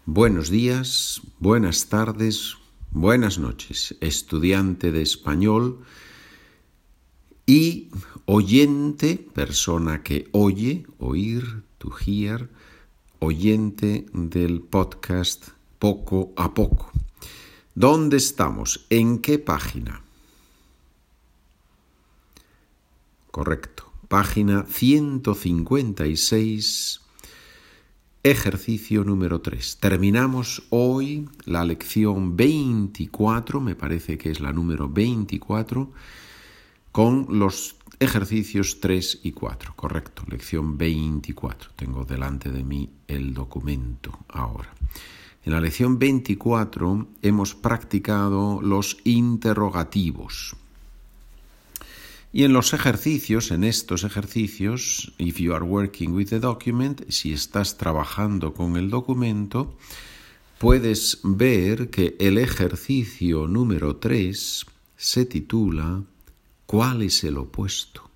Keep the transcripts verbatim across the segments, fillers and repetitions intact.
Buenos días, buenas tardes, buenas noches, estudiante de español y oyente, persona que oye, oír, to hear, oyente del podcast Poco a Poco. ¿Dónde estamos? ¿En qué página? Correcto, página ciento cincuenta y seis. Ejercicio número tres. Terminamos hoy la lección veinticuatro, me parece que es la número veinticuatro, con los ejercicios tres y cuatro. Correcto, lección veinticuatro. Tengo delante de mí el documento ahora. En la lección veinticuatro hemos practicado los interrogativos. Y en los ejercicios, en estos ejercicios, if you are working with the document, si estás trabajando con el documento, puedes ver que el ejercicio número tres se titula ¿Cuál es el opuesto?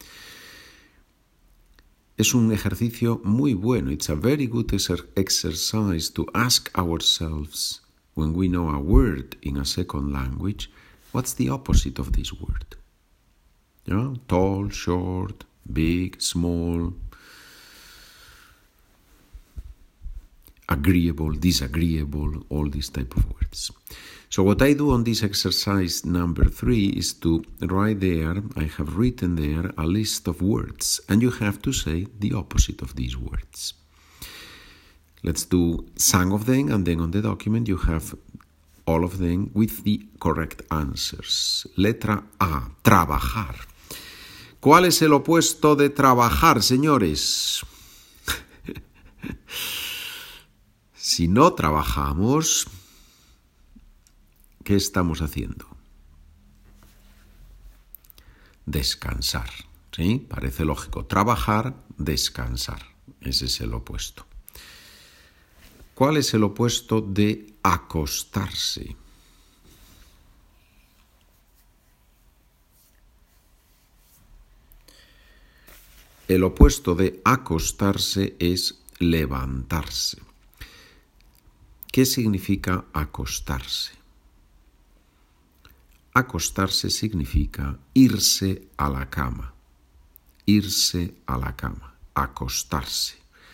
Es un ejercicio muy bueno. It's a very good exercise to ask ourselves, when we know a word in a second language, what's the opposite of this word? Yeah? Tall, short, big, small, agreeable, disagreeable, all these type of words. So what I do on this exercise number three is to write there, I have written there a list of words, and you have to say the opposite of these words. Let's do some of them, and then on the document you have all of them with the correct answers. Letra A, trabajar. ¿Cuál es el opuesto de trabajar, señores? Si no trabajamos, ¿qué estamos haciendo? Descansar, ¿sí? Parece lógico. Trabajar, descansar. Ese es el opuesto. ¿Cuál es el opuesto de acostarse? El opuesto de acostarse es levantarse. ¿Qué significa acostarse? Acostarse significa irse a la cama. Irse a la cama. Acostarse.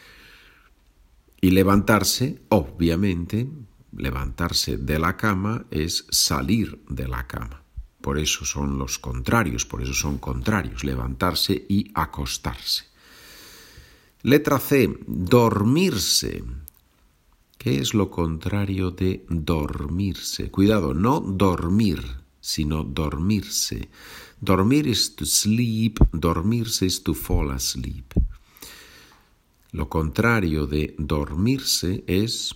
Y levantarse, obviamente, levantarse de la cama es salir de la cama. Por eso son los contrarios, por eso son contrarios, levantarse y acostarse. Letra C, dormirse. ¿Qué es lo contrario de dormirse? Cuidado, no dormir, sino dormirse. Dormir is to sleep, dormirse is to fall asleep. Lo contrario de dormirse es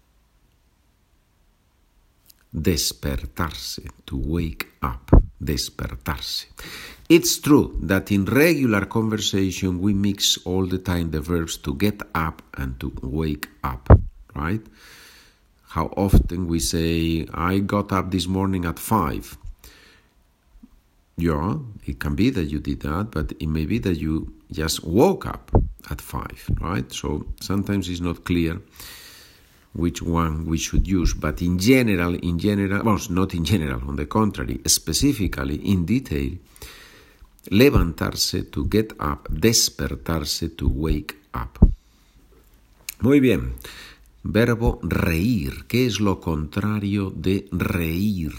despertarse, to wake up, despertarse. It's true that in regular conversation we mix all the time the verbs to get up and to wake up, right? How often we say, I got up this morning at five. Yeah, it can be that you did that, but it may be that you just woke up at five, right? So sometimes it's not clear which one we should use, but in general, in general, well, not in general, on the contrary, specifically, in detail, levantarse, to get up, despertarse, to wake up. Muy bien. Verbo reír. ¿Qué es lo contrario de reír?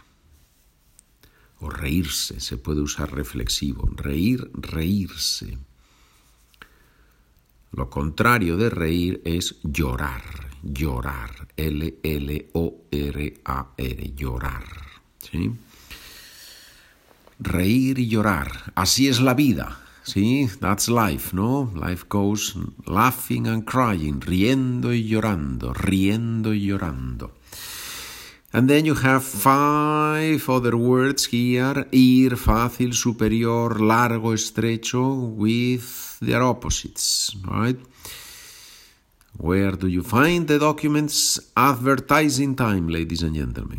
O reírse, se puede usar reflexivo. Reír, reírse. Lo contrario de reír es llorar. Llorar, L L O R A R, llorar, ¿sí? Reír y llorar, así es la vida, ¿sí? That's life, ¿no? Life goes laughing and crying, riendo y llorando, riendo y llorando. And then you have five other words here, ir, fácil, superior, largo, estrecho, with their opposites, right? Where do you find the documents? Advertising time, ladies and gentlemen.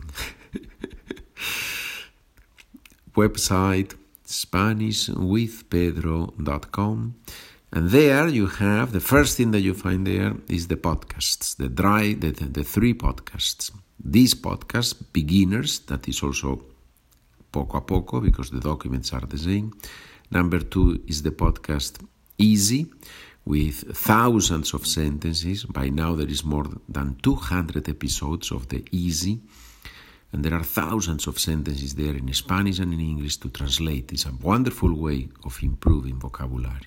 Website spanish with pedro dot com And there you have, the first thing that you find there is the podcasts, the dry, the, the, the three podcasts. These podcasts, beginners, that is also poco a poco because the documents are the same. Number two is the podcast Easy, with thousands of sentences. By now there is more than two hundred episodes of the Easy. And there are thousands of sentences there in Spanish and in English to translate. It's a wonderful way of improving vocabulary.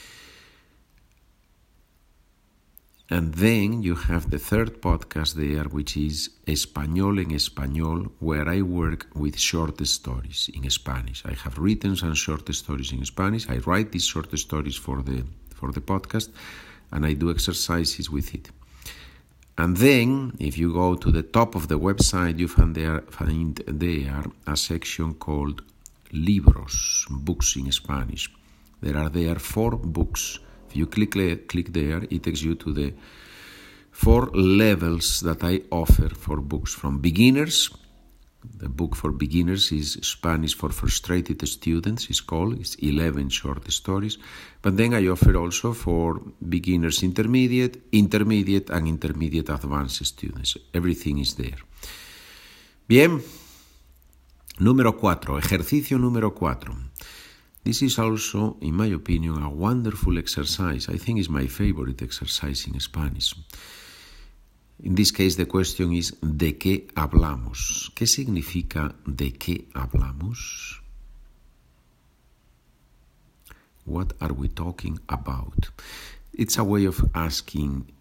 And then you have the third podcast there, which is Español en Español, where I work with short stories in Spanish. I have written some short stories in Spanish. I write these short stories for the for the podcast, and I do exercises with it. And then, if you go to the top of the website, you find there, find there a section called Libros, books in Spanish. There are there four books. If you click, click there, it takes you to the four levels that I offer for books. From beginners, the book for beginners is Spanish for Frustrated Students, it's called. It's eleven short stories. But then I offer also for beginners intermediate, intermediate, and intermediate advanced students. Everything is there. Bien. Número cuatro, ejercicio número cuatro. This is also, in my opinion, a wonderful exercise. I think it's my favorite exercise in Spanish. In this case, the question is, ¿de qué hablamos? ¿Qué significa de qué hablamos? What are we talking about? It's a way of asking,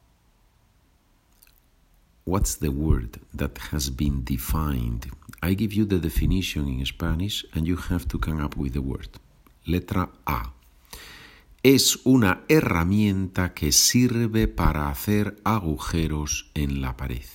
what's the word that has been defined? I give you the definition in Spanish and you have to come up with the word. Letra A. Es una herramienta que sirve para hacer agujeros en la pared.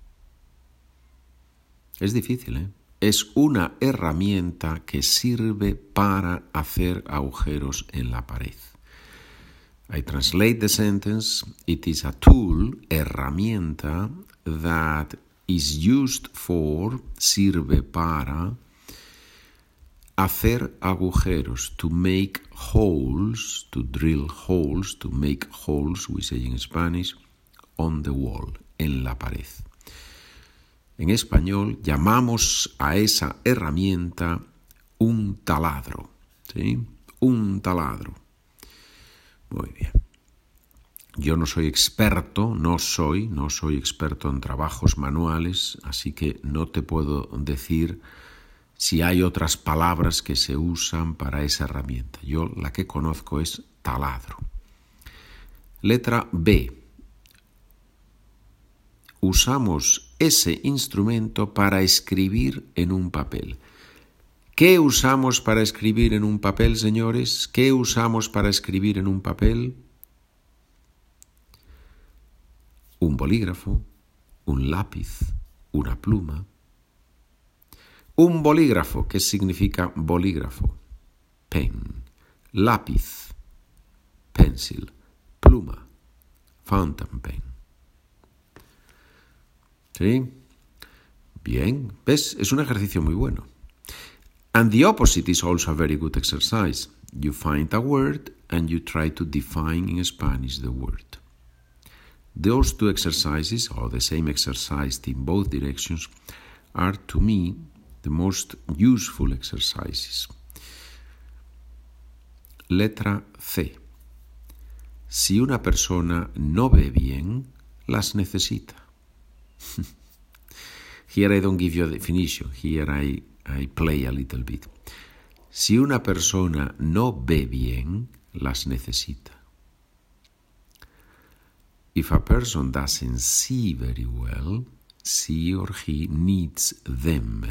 Es difícil, ¿eh? Es una herramienta que sirve para hacer agujeros en la pared. I translate the sentence. It is a tool, herramienta, that is used for, sirve para, hacer agujeros, to make holes, to drill holes, to make holes, we say in Spanish, on the wall, en la pared. En español llamamos a esa herramienta un taladro, ¿sí? Un taladro. Muy bien. Yo no soy experto, no soy, no soy experto en trabajos manuales, así que no te puedo decir si hay otras palabras que se usan para esa herramienta. Yo la que conozco es taladro. Letra B. Usamos ese instrumento para escribir en un papel. ¿Qué usamos para escribir en un papel, señores? ¿Qué usamos para escribir en un papel? Un bolígrafo, un lápiz, una pluma. Un bolígrafo, ¿qué significa bolígrafo? Pen. Lápiz, pencil. Pluma, fountain pen. ¿Sí? Bien, ¿ves? Es un ejercicio muy bueno. And the opposite is also a very good exercise. You find a word and you try to define in Spanish the word. Those two exercises, or the same exercise in both directions, are to me the most useful exercises. Letra C. Si una persona no ve bien, las necesita. Here I don't give you a definition. Here I, I play a little bit. Si una persona no ve bien, las necesita. If a person doesn't see very well, she or he needs them.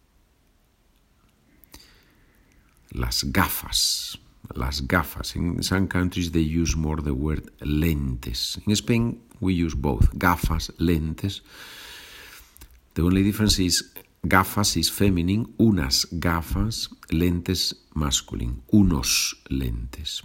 Las gafas. Las gafas. In some countries they use more the word lentes. In Spain we use both. Gafas, lentes. The only difference is gafas is feminine, unas gafas, lentes masculine, unos lentes.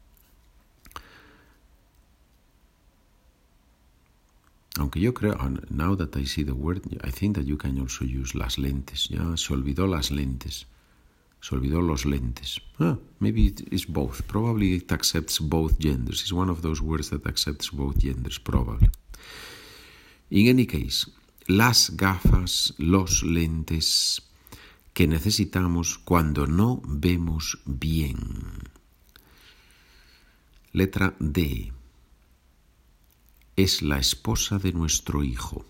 Aunque yo creo, now that I see the word, I think that you can also use las lentes. Ya se olvidó las lentes. Se olvidó los lentes. Ah, maybe it is both. Probably it accepts both genders. It's one of those words that accepts both genders, probably. In any case, las gafas, los lentes que necesitamos cuando no vemos bien. Letra D. Es la esposa de nuestro hijo.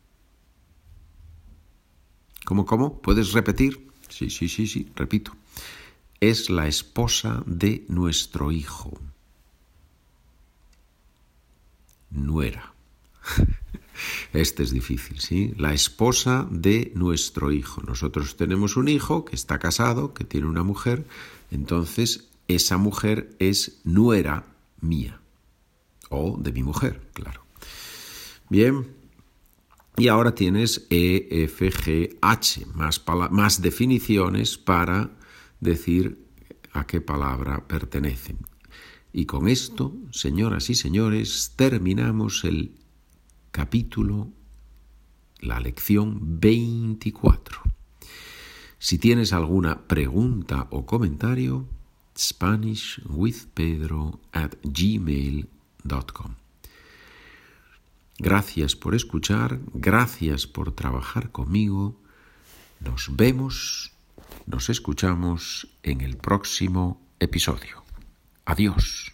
¿Cómo, cómo? ¿Puedes repetir? Sí, sí, sí, sí, repito. Es la esposa de nuestro hijo. Nuera. Este es difícil, ¿sí? La esposa de nuestro hijo. Nosotros tenemos un hijo que está casado, que tiene una mujer, entonces esa mujer es nuera mía. O de mi mujer, claro. Bien. Y ahora tienes E, F, G, H, más, más definiciones para decir a qué palabra pertenecen. Y con esto, señoras y señores, terminamos el capítulo, la lección veinticuatro. Si tienes alguna pregunta o comentario, spanishwithpedro at gmail dot com. Gracias por escuchar, gracias por trabajar conmigo. Nos vemos, nos escuchamos en el próximo episodio. Adiós.